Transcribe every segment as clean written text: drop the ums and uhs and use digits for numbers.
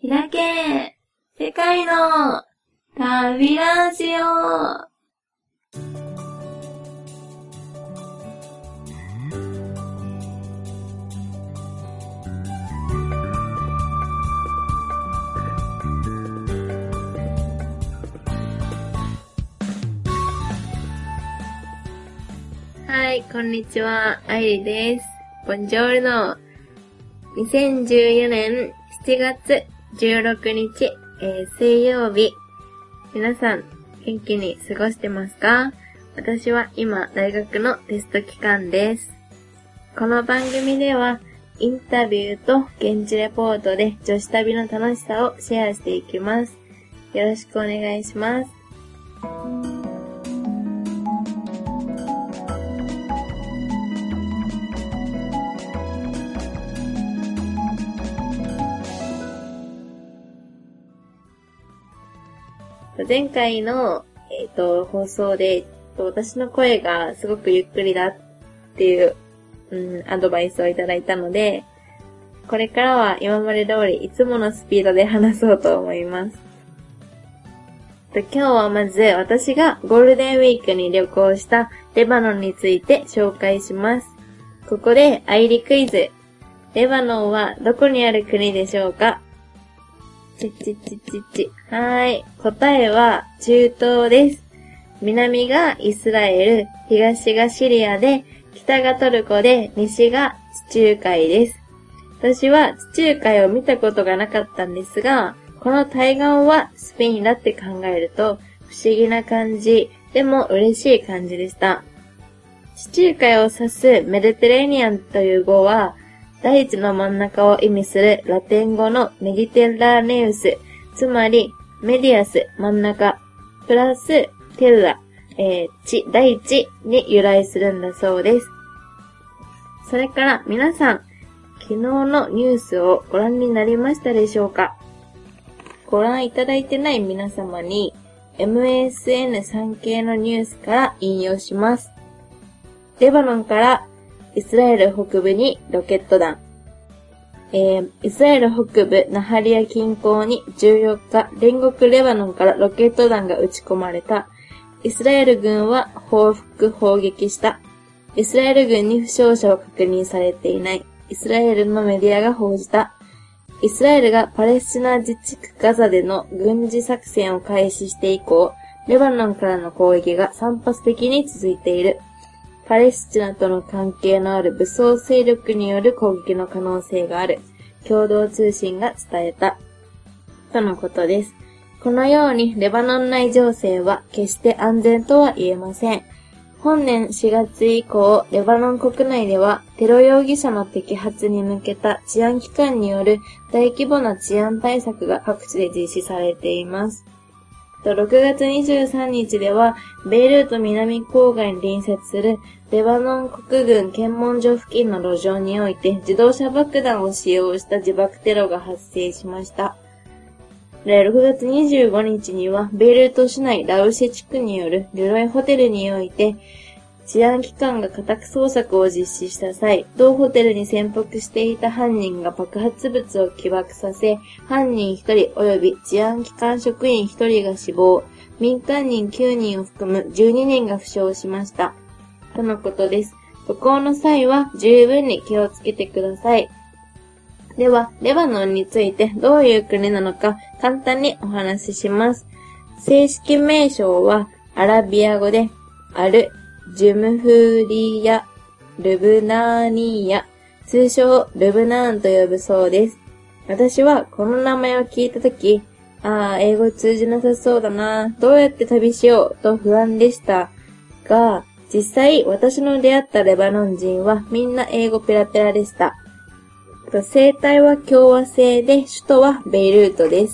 開け世界の旅ラジオ。はい、こんにちは、あいりです。ボンジョルノ。2014年7月16日、水曜日。皆さん、元気に過ごしてますか？私は今、大学のテスト期間です。この番組では、インタビューと現地レポートで女子旅の楽しさをシェアしていきます。よろしくお願いします。前回の、放送で、私の声がすごくゆっくりだっていう、アドバイスをいただいたので、これからは今まで通りいつものスピードで話そうと思います。今日はまず私がゴールデンウィークに旅行したレバノンについて紹介します。ここでアイリクイズ。レバノンはどこにある国でしょうか？はい。答えは中東です。南がイスラエル、東がシリアで、北がトルコで、西が地中海です。私は地中海を見たことがなかったんですが、この対岸はスペインだって考えると、不思議な感じ、でも嬉しい感じでした。地中海を指すメディテレーニアンという語は、大地の真ん中を意味するラテン語のメディテラーネウス、つまりメディアス、真ん中、プラステラ、大地に由来するんだそうです。それから皆さん、昨日のニュースをご覧になりましたでしょうか？ご覧いただいてない皆様に MSN 産経のニュースから引用します。レバノンからイスラエル北部にロケット弾。イスラエル北部ナハリア近郊に14日、隣国レバノンからロケット弾が撃ち込まれた。イスラエル軍は報復砲撃した。イスラエル軍に負傷者は確認されていない。イスラエルのメディアが報じた。イスラエルがパレスチナ自治区ガザでの軍事作戦を開始して以降、レバノンからの攻撃が散発的に続いている。パレスチナとの関係のある武装勢力による攻撃の可能性がある。共同通信が伝えた。とのことです。このようにレバノン内情勢は決して安全とは言えません。本年4月以降、レバノン国内ではテロ容疑者の摘発に向けた治安機関による大規模な治安対策が各地で実施されています。6月23日では、ベイルート南郊外に隣接するレバノン国軍検問所付近の路上において自動車爆弾を使用した自爆テロが発生しました。6月25日には、ベイルート市内ラウシェ地区によるルロイホテルにおいて、治安機関が家宅捜索を実施した際、同ホテルに潜伏していた犯人が爆発物を起爆させ、犯人1人及び治安機関職員1人が死亡、民間人9人を含む12人が負傷しました。とのことです。渡航の際は十分に気をつけてください。では、レバノンについてどういう国なのか簡単にお話しします。正式名称はアラビア語でアル・ジュムフリヤ・ルブナーニーヤ、通称ルブナーンと呼ぶそうです。私はこの名前を聞いたとき、英語通じなさそうだな、どうやって旅しようと不安でしたが、実際私の出会ったレバノン人はみんな英語ペラペラでした。生態は共和制で首都はベイルートです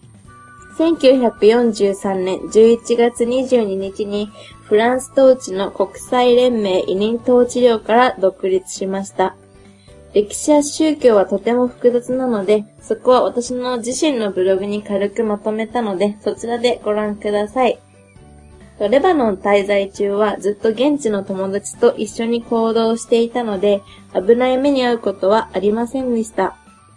。1943年11月22日にフランス統治の国際連盟委任統治領から独立しました。歴史や宗教はとても複雑なので、そこは私の自身のブログに軽くまとめたので、そちらでご覧ください。レバノン滞在中はずっと現地の友達と一緒に行動していたので、危ない目に遭うことはありませんでした。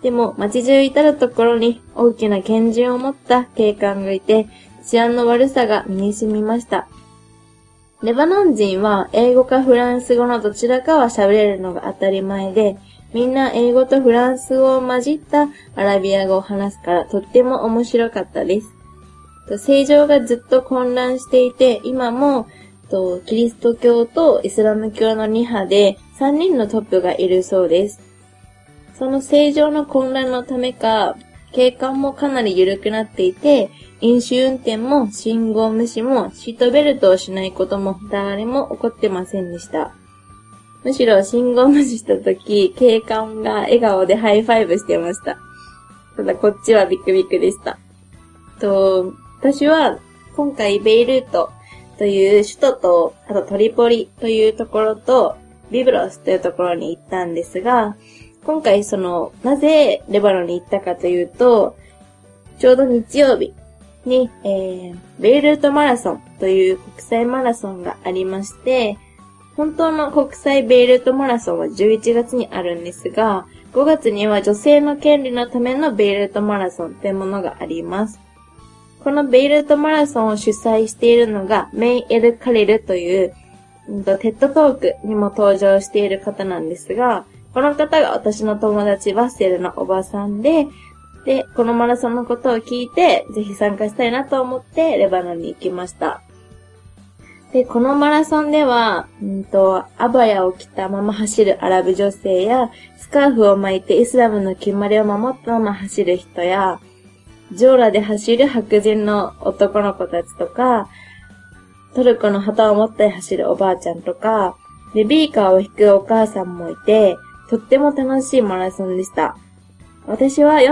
でも街中至るところに大きな拳銃を持った警官がいて、治安の悪さが身に染みました。レバノン人は英語かフランス語のどちらかは喋れるのが当たり前で、みんな英語とフランス語を混じったアラビア語を話すからとっても面白かったです。政情がずっと混乱していて、今もキリスト教とイスラム教の2派で3人のトップがいるそうです。その政情の混乱のためか、景観もかなり緩くなっていて、飲酒運転も信号無視もシートベルトをしないことも誰も起こってませんでした。むしろ信号無視したとき、警官が笑顔でハイファイブしてました。ただこっちはビクビクでした。私は今回ベイルートという首都と、あとトリポリというところと、ビブロスというところに行ったんですが、今回なぜレバノンに行ったかというと、ちょうど日曜日に、ベイルートマラソンという国際マラソンがありまして、本当の国際ベイルートマラソンは11月にあるんですが、5月には女性の権利のためのベイルートマラソンというものがあります。このベイルートマラソンを主催しているのがメイ・エル・カリルという、テッドトークにも登場している方なんですが、この方が私の友達バッセルのおばさんで、このマラソンのことを聞いて、ぜひ参加したいなと思ってレバノンに行きました。で、このマラソンでは、アバヤを着たまま走るアラブ女性や、スカーフを巻いてイスラムの決まりを守ったまま走る人や、ジョーラで走る白人の男の子たちとか、トルコの旗を持って走るおばあちゃんとか、ベビーカーを引くお母さんもいて、とっても楽しいマラソンでした。私は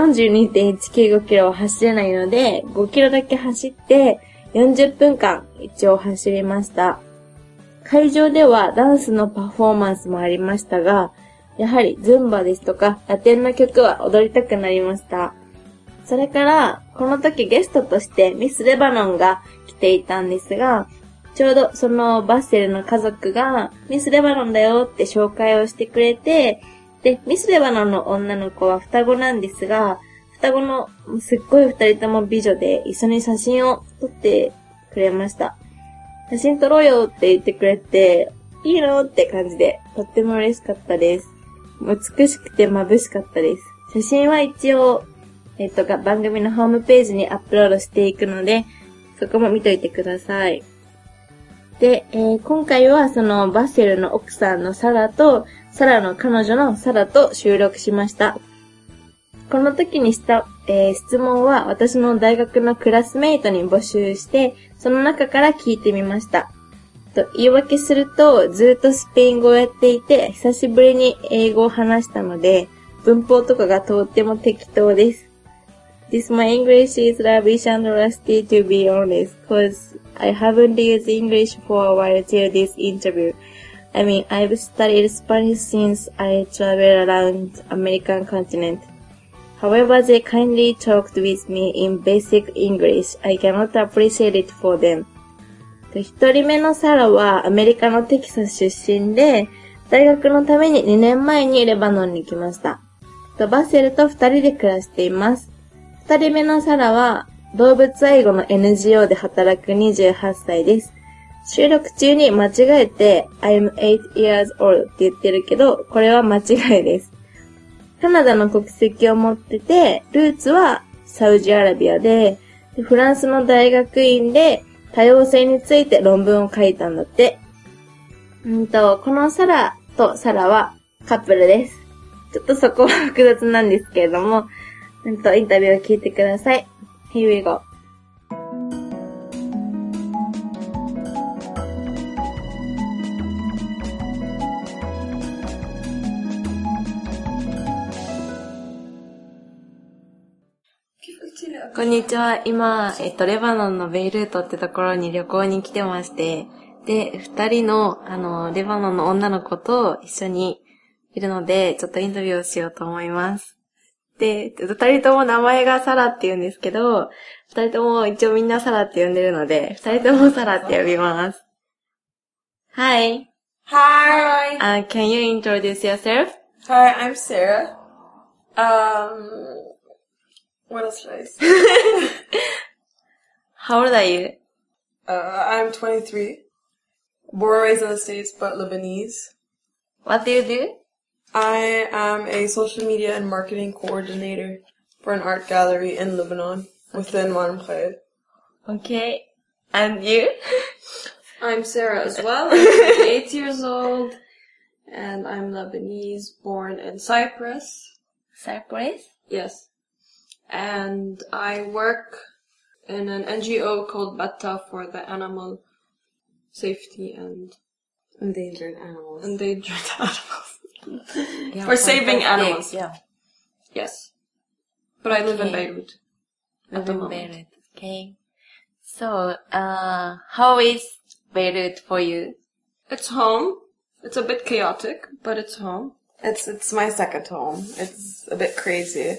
42.195 キロを走れないので、5キロだけ走って、40分間一応走りました。会場ではダンスのパフォーマンスもありましたが、やはりズンバですとかラテンの曲は踊りたくなりました。それから、この時ゲストとしてミスレバノンが来ていたんですが、ちょうどそのバッセルの家族がミスレバノンだよって紹介をしてくれて、で、ミスレバノンの女の子は双子なんですが、双子のすっごい二人とも美女で一緒に写真を撮ってくれました。写真撮ろうよって言ってくれて、いいのって感じで、とっても嬉しかったです。美しくて眩しかったです。写真は一応、番組のホームページにアップロードしていくので、そこも見といてください。で、今回はそのバッセルの奥さんのサラと、サラの彼女のサラと収録しました。この時にした、質問は私の大学のクラスメイトに募集して、その中から聞いてみました。言い訳すると、ずっとスペイン語をやっていて、久しぶりに英語を話したので、文法とかがとっても適当です。This my English is rubbish and rusty to be honest, cause I haven't used English for a while till this interview. I mean, I've studied Spanish since I traveled around American continent.However, they kindly talked with me in basic English. I cannot appreciate it for them. 一人目のサラはアメリカのテキサス出身で、大学のために2年前にレバノンに来ました。バッセルと2人で暮らしています。2人目のサラは動物愛護の NGO で働く28歳です。収録中に間違えて I'm 8 years old って言ってるけど、これは間違いです。カナダの国籍を持ってて、ルーツはサウジアラビアで、フランスの大学院で多様性について論文を書いたんだって。このサラとサラはカップルです。ちょっとそこは複雑なんですけれども、インタビューを聞いてください。Here we go.こんにちは。今、レバノンのベイルートってところに旅行に来てまして、で、二人の、レバノンの女の子と一緒にいるので、ちょっとインタビューをしようと思います。で、二人とも名前がサラって言うんですけど、二人とも一応みんなサラって呼んでるので、二人ともサラって呼びます。Hi. Hi. Can you introduce yourself? Hi, I'm Sarah. What else should I say? How old are you? I'm 23. Born and raised in the States, but Lebanese. What do you do? I am a social media and marketing coordinator for an art gallery in Lebanon within Marm Khair. Okay. And you? I'm Sarah as well. I'm 28 years old, and I'm Lebanese, born in Cyprus. Cyprus? Yes. And I work in an NGO called Batta for the animal safety and Endangered animals. Yeah, for saving fantastic. animals. Yeah. Yes. But I live in Okay. Beirut. Live the in moment. Beirut. Okay. So, how is Beirut for you? It's home. It's a bit chaotic, but it's home. It's my second home. It's a bit crazy.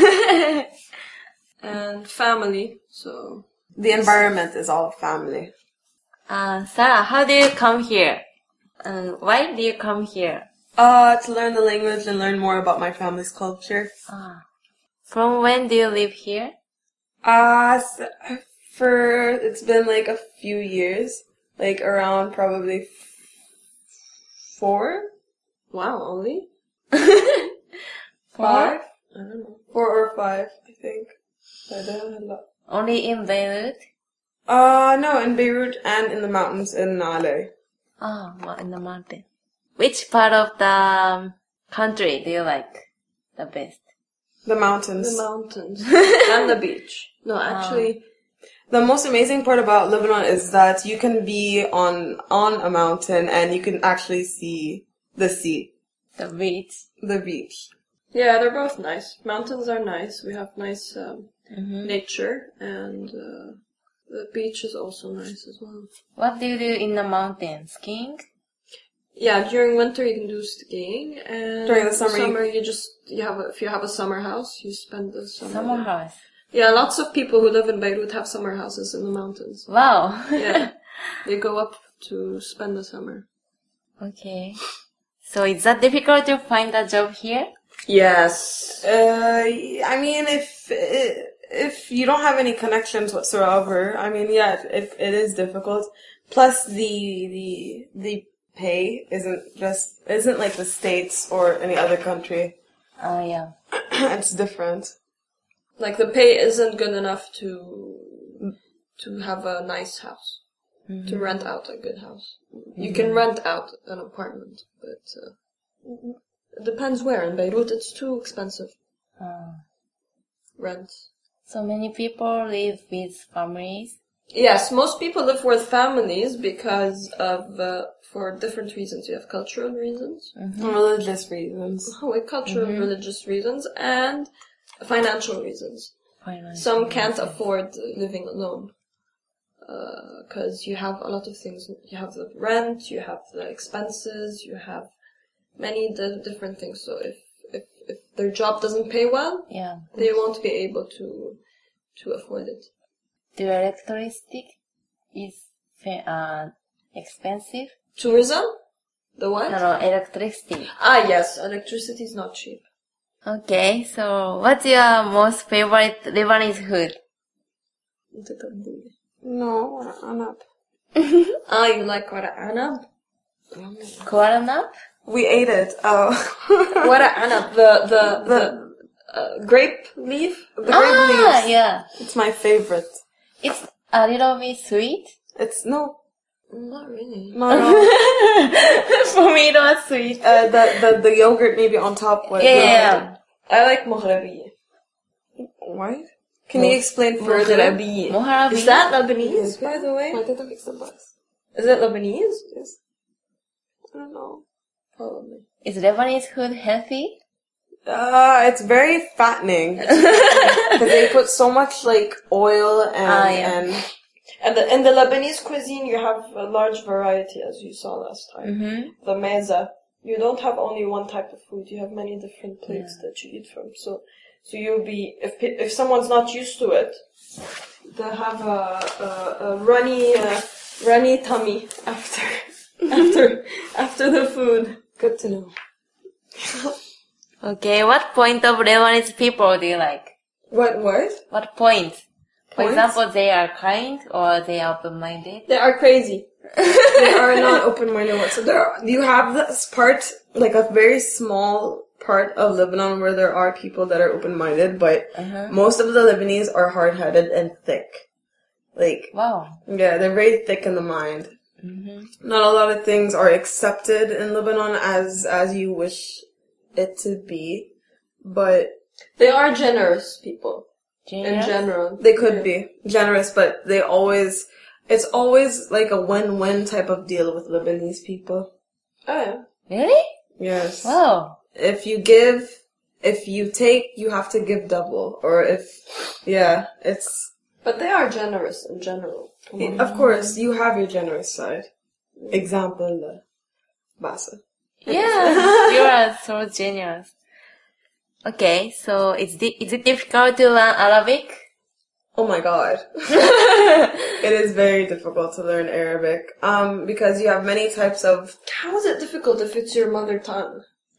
And family, so... The environment is all family. Sarah, how do you come here? And why do you come here? To learn the language and learn more about my family's culture. From when do you live here? It's been like a few years. Like around probably 4? Wow, only? 5? I don't know. 4 or 5, I think. Only in Beirut? No, in Beirut and in the mountains in Nale. Well, in the mountain. Which part of the country do you like the best? The mountains. The mountains. And the beach. No, actually... The most amazing part about Lebanon is that you can be on a mountain and you can actually see the sea. The beach? The beach. Yeah, they're both nice. Mountains are nice. We have nice nature, and the beach is also nice as well. What do you do in the mountain? Skiing? Yeah, during winter you can do skiing, and During the summer if you have a summer house, you spend the summer. Summer there. house. Yeah, lots of people who live in Beirut have summer houses in the mountains. Wow. Yeah, they go up to spend the summer. Okay. So is that difficult to find a job here? Yes. I mean, if you don't have any connections whatsoever, I mean, yeah, it is difficult. Plus, the pay isn't like the States or any other country. Yeah. It's different. Like the pay isn't good enough to have a nice house, to rent out a good house. You can rent out an apartment, but it depends where. In Beirut, it's too expensive. Rent. So many people live with families. Yes, most people live with families because of for different reasons. You have cultural reasons, Religious reasons. cultural religious reasons, and financial reasons. Some can't afford living alone because you have a lot of things. You have the rent, you have the expenses, you have many different things. So if their job doesn't pay well, Yeah. they won't be able to afford it. Do electricity is expensive? Tourism? The what? No, electricity. Yes, electricity is not cheap. Okay, so what's your most favorite Lebanese food? No, anab. You like wara anab? Koaranap? We ate it. Oh. Wara anab, the grape leaf? The grape leaves. Yeah. It's my favorite. It's a little bit sweet. It's no. Not really. No. For me, it was sweet. The yogurt maybe on top was. Yeah. I like Moghrabi. What? Can you explain further? Moharabi. Is that Lebanese, by the way? Is it Lebanese? Yes. I don't know. Probably. Is Lebanese food healthy? It's very fattening. Because they put so much like oil and And in the Lebanese cuisine, you have a large variety, as you saw last time. The meza. You don't have only one type of food. You have many different plates that you eat from. So you'll be, if someone's not used to it, they'll have a runny tummy after the food. Good to know. Okay, what point of Lebanese people do you like? What? What point? For Points? example, they are kind or they are open-minded? They are crazy. They are not open-minded whatsoever. You have this part, like a very small part of Lebanon where there are people that are open-minded, but most of the Lebanese are hard-headed and thick. Like, Wow. yeah, they're very thick in the mind. Not a lot of things are accepted in Lebanon as you wish it to be, but They are generous people. In Generous? general. they could be generous, but it's always like a win-win type of deal with Lebanese people. Oh, yeah. Really? Yes. Wow. If you take, you have to give double. Or it's, But they are generous in general. of course, you have your generous side. Example, Basa. Yeah, you are so generous. Okay, so is it difficult to learn Arabic? Oh my god. It is very difficult to learn Arabic. Because you have many types of, How is it difficult if it's your mother tongue?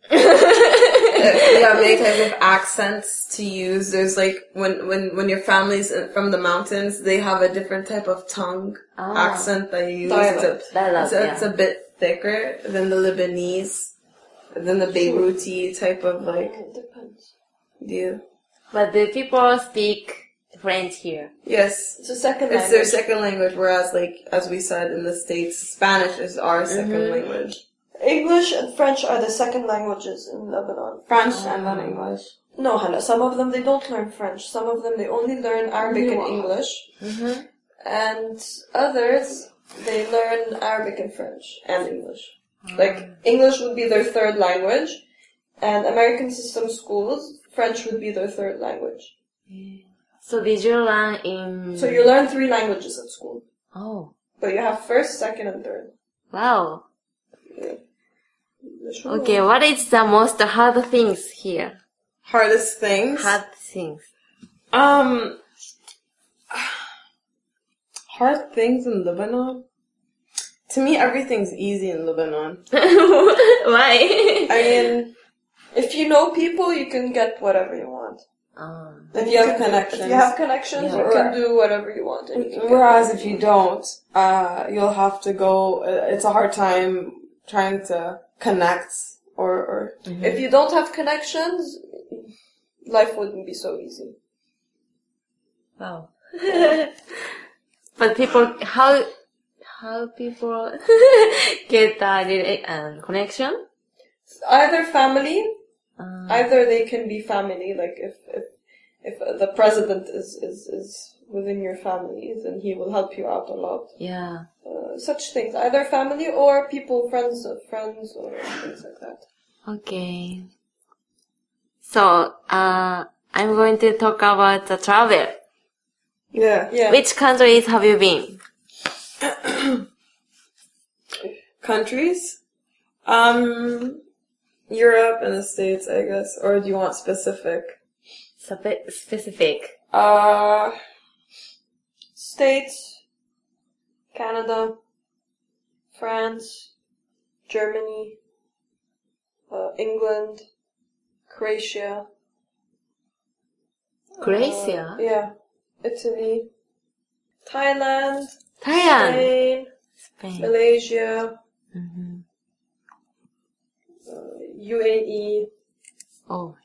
you have many types of accents to use. There's like, when your family's from the mountains, they have a different type of tongue accent that you use. Dialect. It's a bit thicker than the Lebanese, than the Beiruti type of like It depends. deal. But the people speak French here. Yes. It's a second It's language. their second language, whereas like, as we said in the States, Spanish is our second language. English and French are the second languages in Lebanon. French and then English. No, Hannah, some of them they don't learn French. Some of them they only learn Arabic and English. And others, they learn Arabic and French and English. Like, English would be their third language, and American system schools, French would be their third language. So did you learn in... So you learn 3 languages at school. Oh, But you have first, second, and third. wow. Yeah. Okay, what is the most hard things here? Hardest things. Hard things. Hard things in Lebanon? To me, everything's easy in Lebanon. Why? I mean, If you know people, you can get whatever you want. if you have connections. If you have connections, Yeah. you can do whatever you want. And you can get Whereas if you don't, you'll have to go, it's a hard time trying to connect or If you don't have connections, life wouldn't be so easy. Wow. But people, how people get connection? Either family, either they can be family, like if the president is within your family, then he will help you out a lot. Yeah. Such things, either family or people, friends of friends, or things like that. Okay. So, I'm going to talk about the travel. yeah. Yeah. Which countries have you been? Countries? Europe and the States, I guess. Or do you want specific? Specific. States, Canada, France, Germany, England, Croatia. Croatia? Yeah. Italy, Thailand, Thailand. Spain, Spain. Malaysia, Mm-hmm. UAE. Oh.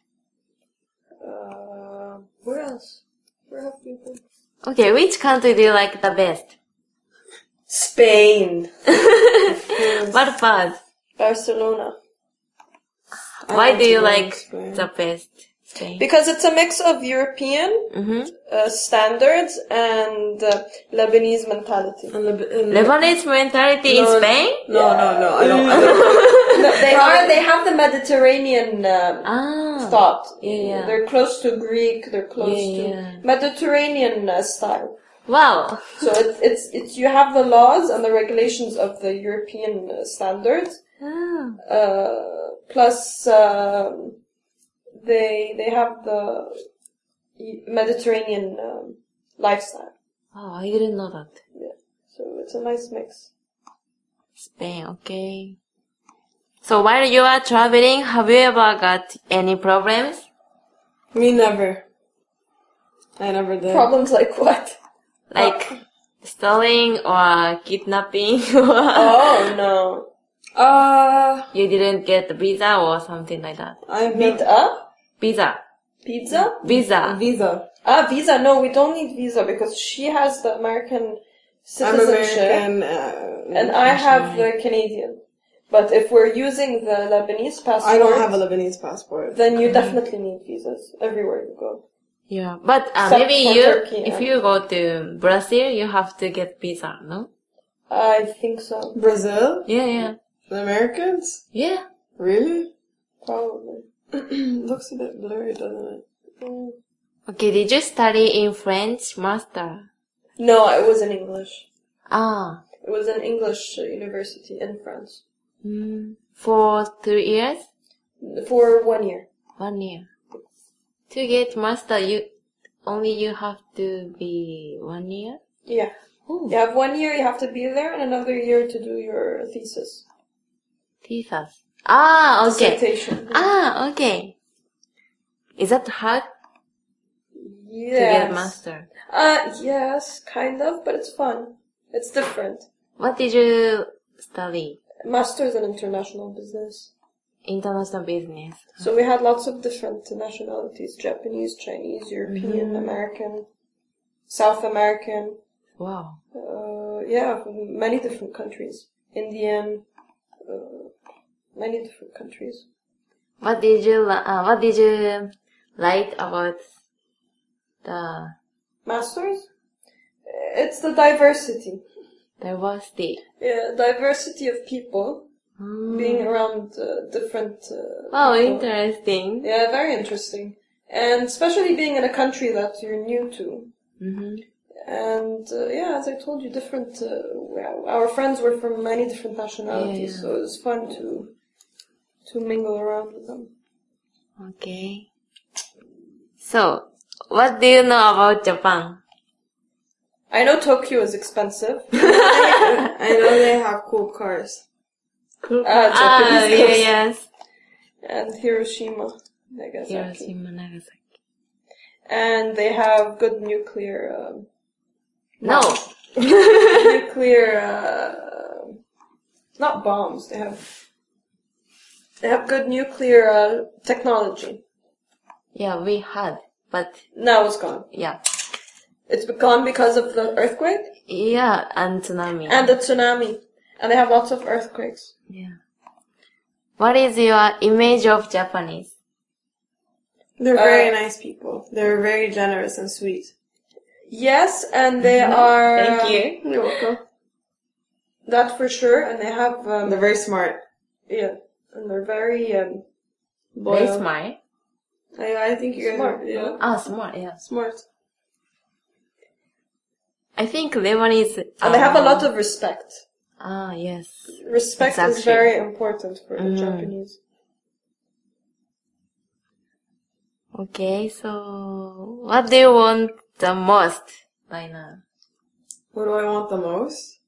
Where else? Where have we been? Okay, which country do you like the best? Spain. What part? Barcelona. Why do you like Spain. the best Spain? Because it's a mix of European standards and Lebanese mentality. And Lebanese mentality in Spain? No, I don't. No, they have the Mediterranean thought. Yeah. They're close to Greek, they're close to Mediterranean style. Wow. So it's you have the laws and the regulations of the European standards, plus they have the Mediterranean lifestyle. Oh, I didn't know that. Yeah. So it's a nice mix. Spain, okay. So while you are traveling, have you ever got any problems? Me never. I never did. Problems like what? Like stealing or kidnapping Oh, no. you didn't get the visa or something like that. I've Meet never... up? Visa. Pizza? Visa. Visa. Visa. No, we don't need visa because she has the American I'm citizenship. American. And I have the Canadian. But if we're using the Lebanese passport, I don't have a Lebanese passport. then you definitely need visas everywhere you go. Yeah, but Except maybe for you, Turkey, if yeah. you go to Brazil, you have to get visa, no? I think so. Brazil? Yeah. The Americans? Yeah. Really? Probably. Looks a bit blurry, doesn't it? Mm. Okay, did you study in French master? No, it was in English. Ah. It was an English university in France. For 3 years? For 1 year. 1 year. To get master, you have to be 1 year? Yeah. Ooh. You have 1 year, you have to be there, and another year to do your thesis. Thesis. Ah, okay. Dissertation. Ah, okay. Is that hard Yes. to get master? Yes, kind of, but it's fun. It's different. What did you study? Master's in international business. International business. So we had lots of different nationalities: Japanese, Chinese, European, American, South American. Wow. Yeah, many different countries. Indian, many different countries. What did you like about the Masters? It's the diversity. diversity? Yeah, diversity of people. Being around different Wow, people. interesting. Yeah, very interesting. And especially being in a country that you're new to. And yeah, as I told you, different. Our friends were from many different nationalities, Yeah. so it was fun to mingle around with them. Okay. So, what do you know about Japan? I know Tokyo is expensive. I know they have cool cars. Japanese cars. yes. And Hiroshima, Nagasaki. Hiroshima, Nagasaki. And they have good nuclear. No. Nuclear. Not bombs. They have good nuclear technology. Yeah, we had, but Now it's gone. yeah. It's gone because of the earthquake Yeah, and tsunami. and the tsunami. And they have lots of earthquakes. Yeah. What is your image of Japanese? They're very nice people. They're very generous and sweet. Yes, and they are... Thank you. You're welcome. That for sure. And they have... They're very smart. yeah. And they're very... Very Loyal. smart. I think you guys Smart, are... Yeah. Ah, smart, yeah. Smart. I think Lebanese... And they have a lot of respect. Ah, yes. Respect is Exactly. very important for the Japanese. Okay, so what do you want the most right now? What do I want the most?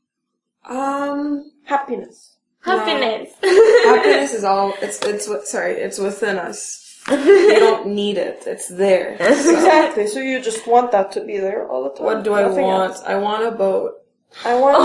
Happiness. Happiness. Happiness is all, it's within us. You don't need it. It's there. Exactly. So you just want that to be there all the time. What do I Nothing want? else. I want a boat. I want...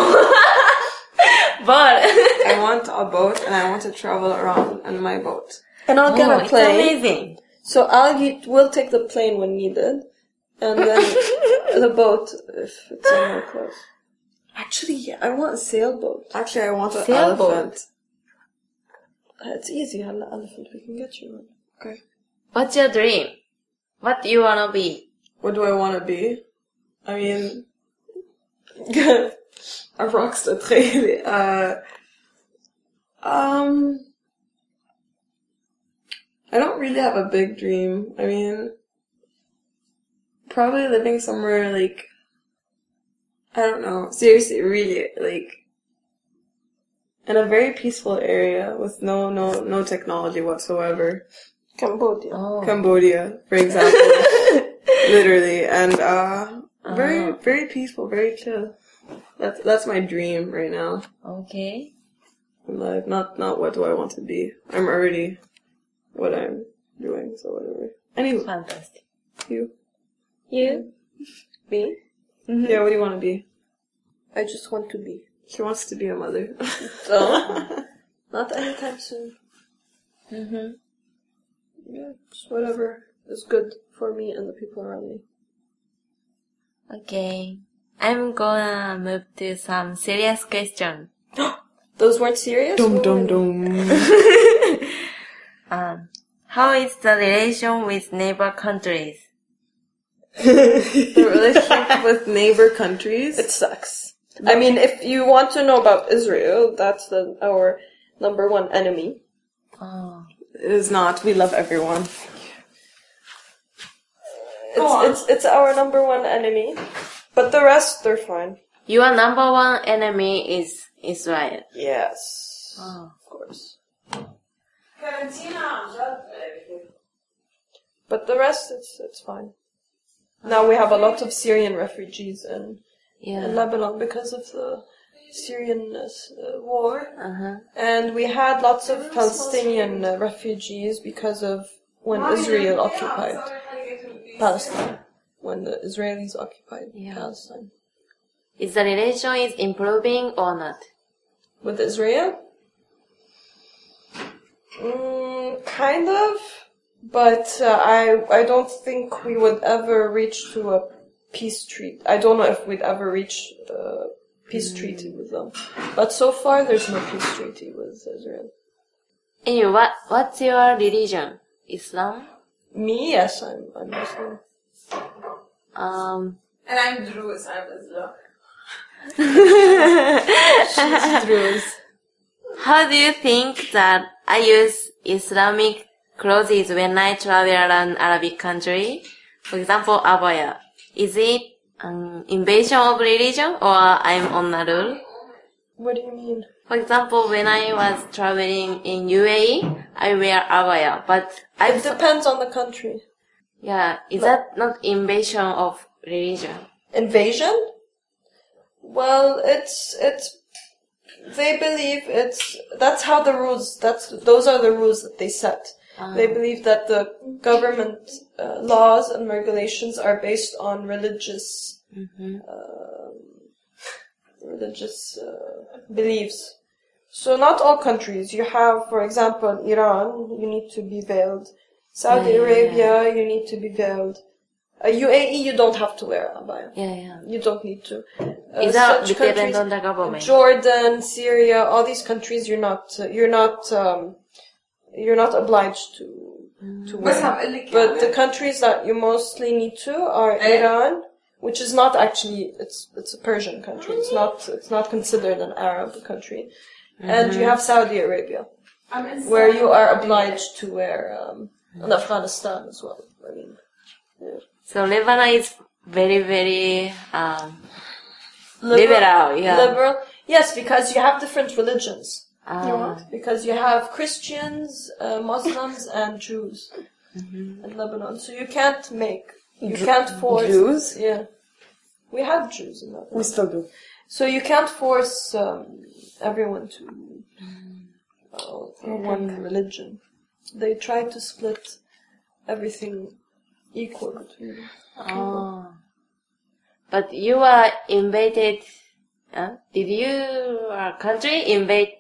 But I want a boat and I want to travel around on my boat. And I'll get a it's plane. amazing. So we'll take the plane when needed. And then the boat if it's somewhere close. Actually, yeah, I want a sailboat. Actually, I want an Sailboat. elephant. It's easy, an elephant. We can get you one. Okay. What's your dream? What do you wanna be? What do I want to be? I mean, a rockstar really. I don't really have a big dream. I mean, probably living somewhere like, I don't know, seriously, really, like, in a very peaceful area with no technology whatsoever. Cambodia. Oh. Cambodia, for example. Literally. And, very peaceful, very chill. That's my dream right now. Okay. in life. Not what do I want to be. I'm already what I'm doing, so whatever. Anyway, Fantastic. you. You? Me? Yeah, what do you want to be? I just want to be. She wants to be a mother. So, not anytime soon. Mm-hmm. Yeah, just whatever is good for me and the people around me. Okay. I'm gonna move to some serious question. Those weren't serious? Dum dum dum. How is the relation with neighbor countries? The relationship with neighbor countries. It sucks. I mean, if you want to know about Israel, that's our number one enemy. Oh. It is not. We love everyone. It's our number one enemy. But the rest, they're fine. Your number one enemy is Israel. Yes. Oh. Of course. But the rest, it's fine. Now we have a lot of Syrian refugees in Lebanon because of the Syrian war. Uh-huh. And we had lots of Palestinian refugees because of when Israel occupied Palestine. When the Israelis occupied Palestine. Is the relation is improving or not? With Israel? Kind of. But I don't think we would ever reach to a peace treaty. I don't know if we'd ever reach a peace treaty with them. But so far, there's no peace treaty with Israel. Anyway, what's your religion? Islam? Me, yes, I'm Muslim. And I'm Druze. I'm Islam. She's Druze. How do you think that I use Islamic clothes when I travel around Arabic country? For example, abaya. Is it an invasion of religion or I'm on a rule? What do you mean? For example, when I was traveling in UAE, I wear abaya, but It depends on the country. Yeah, is that not invasion of religion? Invasion? Well, they believe that's how the rules, those are the rules that they set. They believe that the government laws and regulations are based on religious beliefs. So not all countries. You have, for example, Iran, you need to be veiled. Saudi Arabia, you need to be veiled. UAE, you don't have to wear abaya. Yeah. You don't need to. Is that dependent on the government? Jordan, Syria, all these countries, you're not obliged to wear. But the countries that you mostly need to are Iran, which is not actually, it's a Persian country. It's not considered an Arab country. And you have Saudi Arabia, where you are obliged to wear, and Afghanistan as well. I mean, yeah. So Lebanon is very, very liberal. Liberal. Yes, because you have different religions. Because you have Christians, Muslims, and Jews in Lebanon. So you can't force Jews? Yeah, we have Jews in Lebanon. We still do. So you can't force everyone to one religion. They try to split everything equal between them. Oh. But you were invaded, did your country invade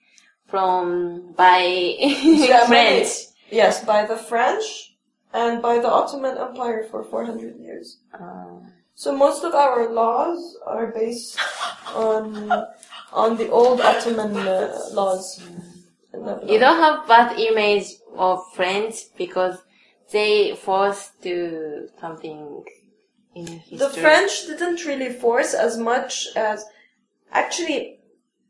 by French? Yes, by the French and by the Ottoman Empire for 400 years. So most of our laws are based on the old Ottoman laws. You don't have bad image of French because they forced to something in history. The French didn't really force as much as, actually,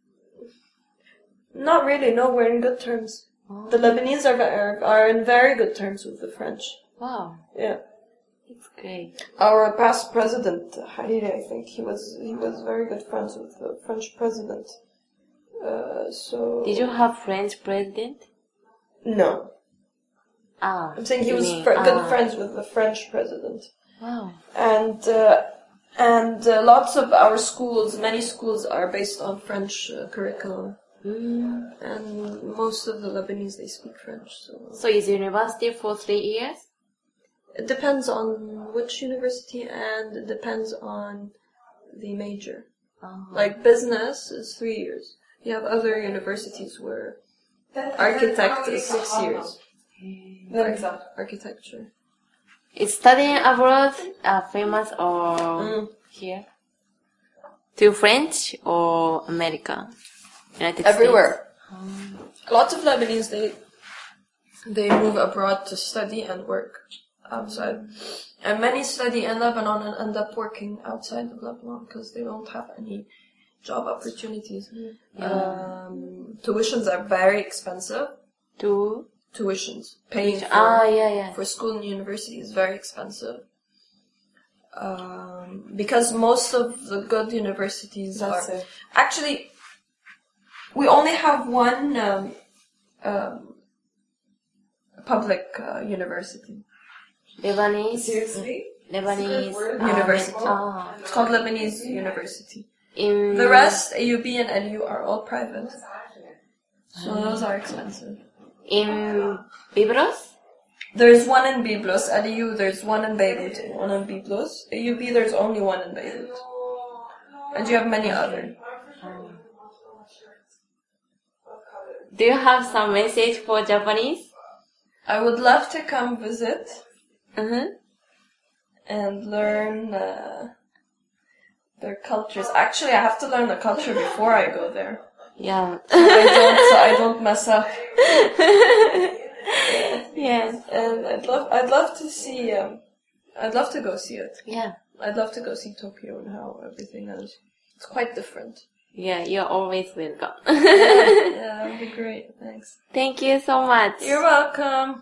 not really. No, we're in good terms. Oh. The Lebanese are in very good terms with the French. Wow. Yeah. It's great. Our past president, Hariri, I think he was very good friends with the French president. So. Did you have French president? No. I'm saying he was good friends with the French president. Wow. And lots of our schools, many schools are based on French curriculum. And most of the Lebanese, they speak French. So is university for 3 years? It depends on which university, and it depends on the major. Like business is 3 years. You have other universities where architect is 6 years. Architecture. Is studying abroad famous or here? To French or America? United Everywhere. States? Lots of Lebanese, they move abroad to study and work outside. And many study in Lebanon and end up working outside of Lebanon because they don't have any job opportunities. Tuitions are very expensive. Tuitions. Paying for school and university is very expensive. Because most of the good universities are... Actually, we only have one public university. Lebanese? Seriously? Lebanese University. It's called Lebanese University. The rest, AUB and LU, are all private. So those are expensive. In Byblos? There's one in Byblos. LU, there's one in Beirut, one in Byblos. AUB, there's only one in Beirut. And you have many other. Do you have some message for Japanese? I would love to come visit. And learn their cultures. Actually, I have to learn the culture before I go there. Yeah. So I don't mess up. Yes. And I'd love to see. I'd love to go see it. Yeah. I'd love to go see Tokyo and how everything is. It's quite different. Yeah, you're always welcome. Yeah, that would be great. Thanks. Thank you so much. You're welcome.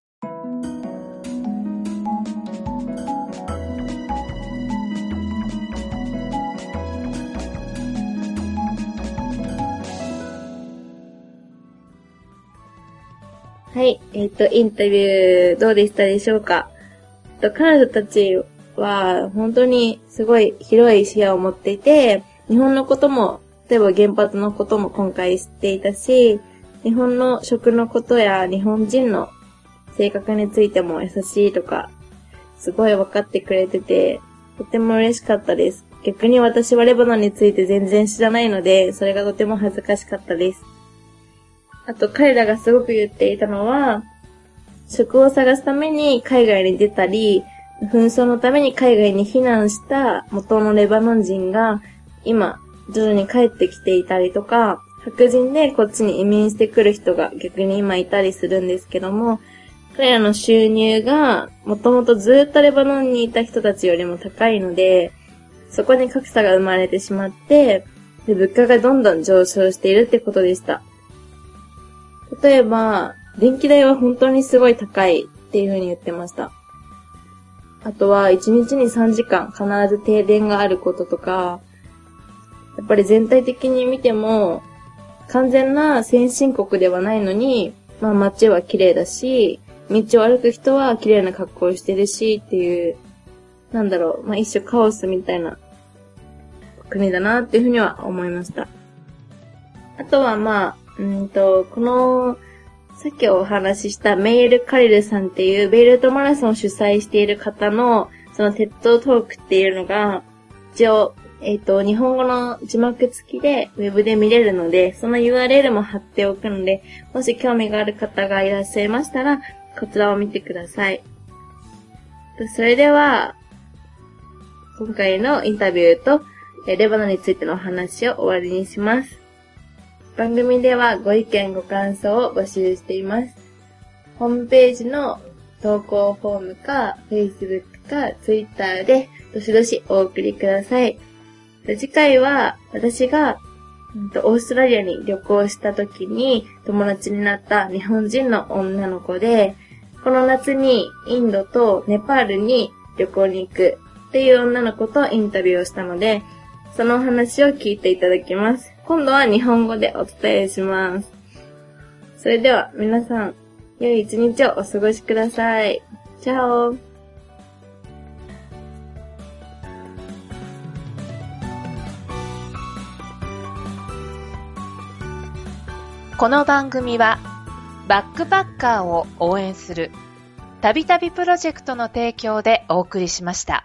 はい、インタビューどうでしたでしょうか？彼女たちは本当にすごい広い視野を持っていて、日本のことも、例えば原発のことも今回知っていたし、日本の食のことや日本人の性格についても優しいとか、すごい分かってくれてて、とても嬉しかったです。逆に私はレバノンについて全然知らないので、それがとても恥ずかしかったです。あと彼らがすごく言っていたのは、職を探すために海外に出たり、紛争のために海外に避難した元のレバノン人が今徐々に帰ってきていたりとか、白人でこっちに移民してくる人が逆に今いたりするんですけども、彼らの収入がもともとずっとレバノンにいた人たちよりも高いので、そこに格差が生まれてしまって、で物価がどんどん上昇しているってことでした。例えば、電気代は本当にすごい高いっていう風に言ってました。あとは、1日に3時間必ず停電があることとか、やっぱり全体的に見ても、完全な先進国ではないのに、まあ街は綺麗だし、道を歩く人は綺麗な格好をしてるしっていう、まあ一種カオスみたいな国だなっていう風には思いました。あとはこの、さっきお話ししたメイル・カリルさんっていうベイルートマラソンを主催している方のそのテッドトークっていうのが一応、日本語の字幕付きでウェブで見れるので、その URL も貼っておくので、もし興味がある方がいらっしゃいましたら、こちらを見てください。それでは、今回のインタビューとレバノンについてのお話を終わりにします。番組ではご意見ご感想を募集しています。ホームページの投稿フォームか Facebook か Twitter でどしどしお送りください。次回は私がオーストラリアに旅行した時に友達になった日本人の女の子で、この夏にインドとネパールに旅行に行くっていう女の子とインタビューをしたので、そのお話を聞いていただきます。今度は日本語でお伝えします。それでは皆さん、良い一日をお過ごしください。チャオ。 この番組はバックパッカーを応援するたびたびプロジェクトの提供でお送りしました。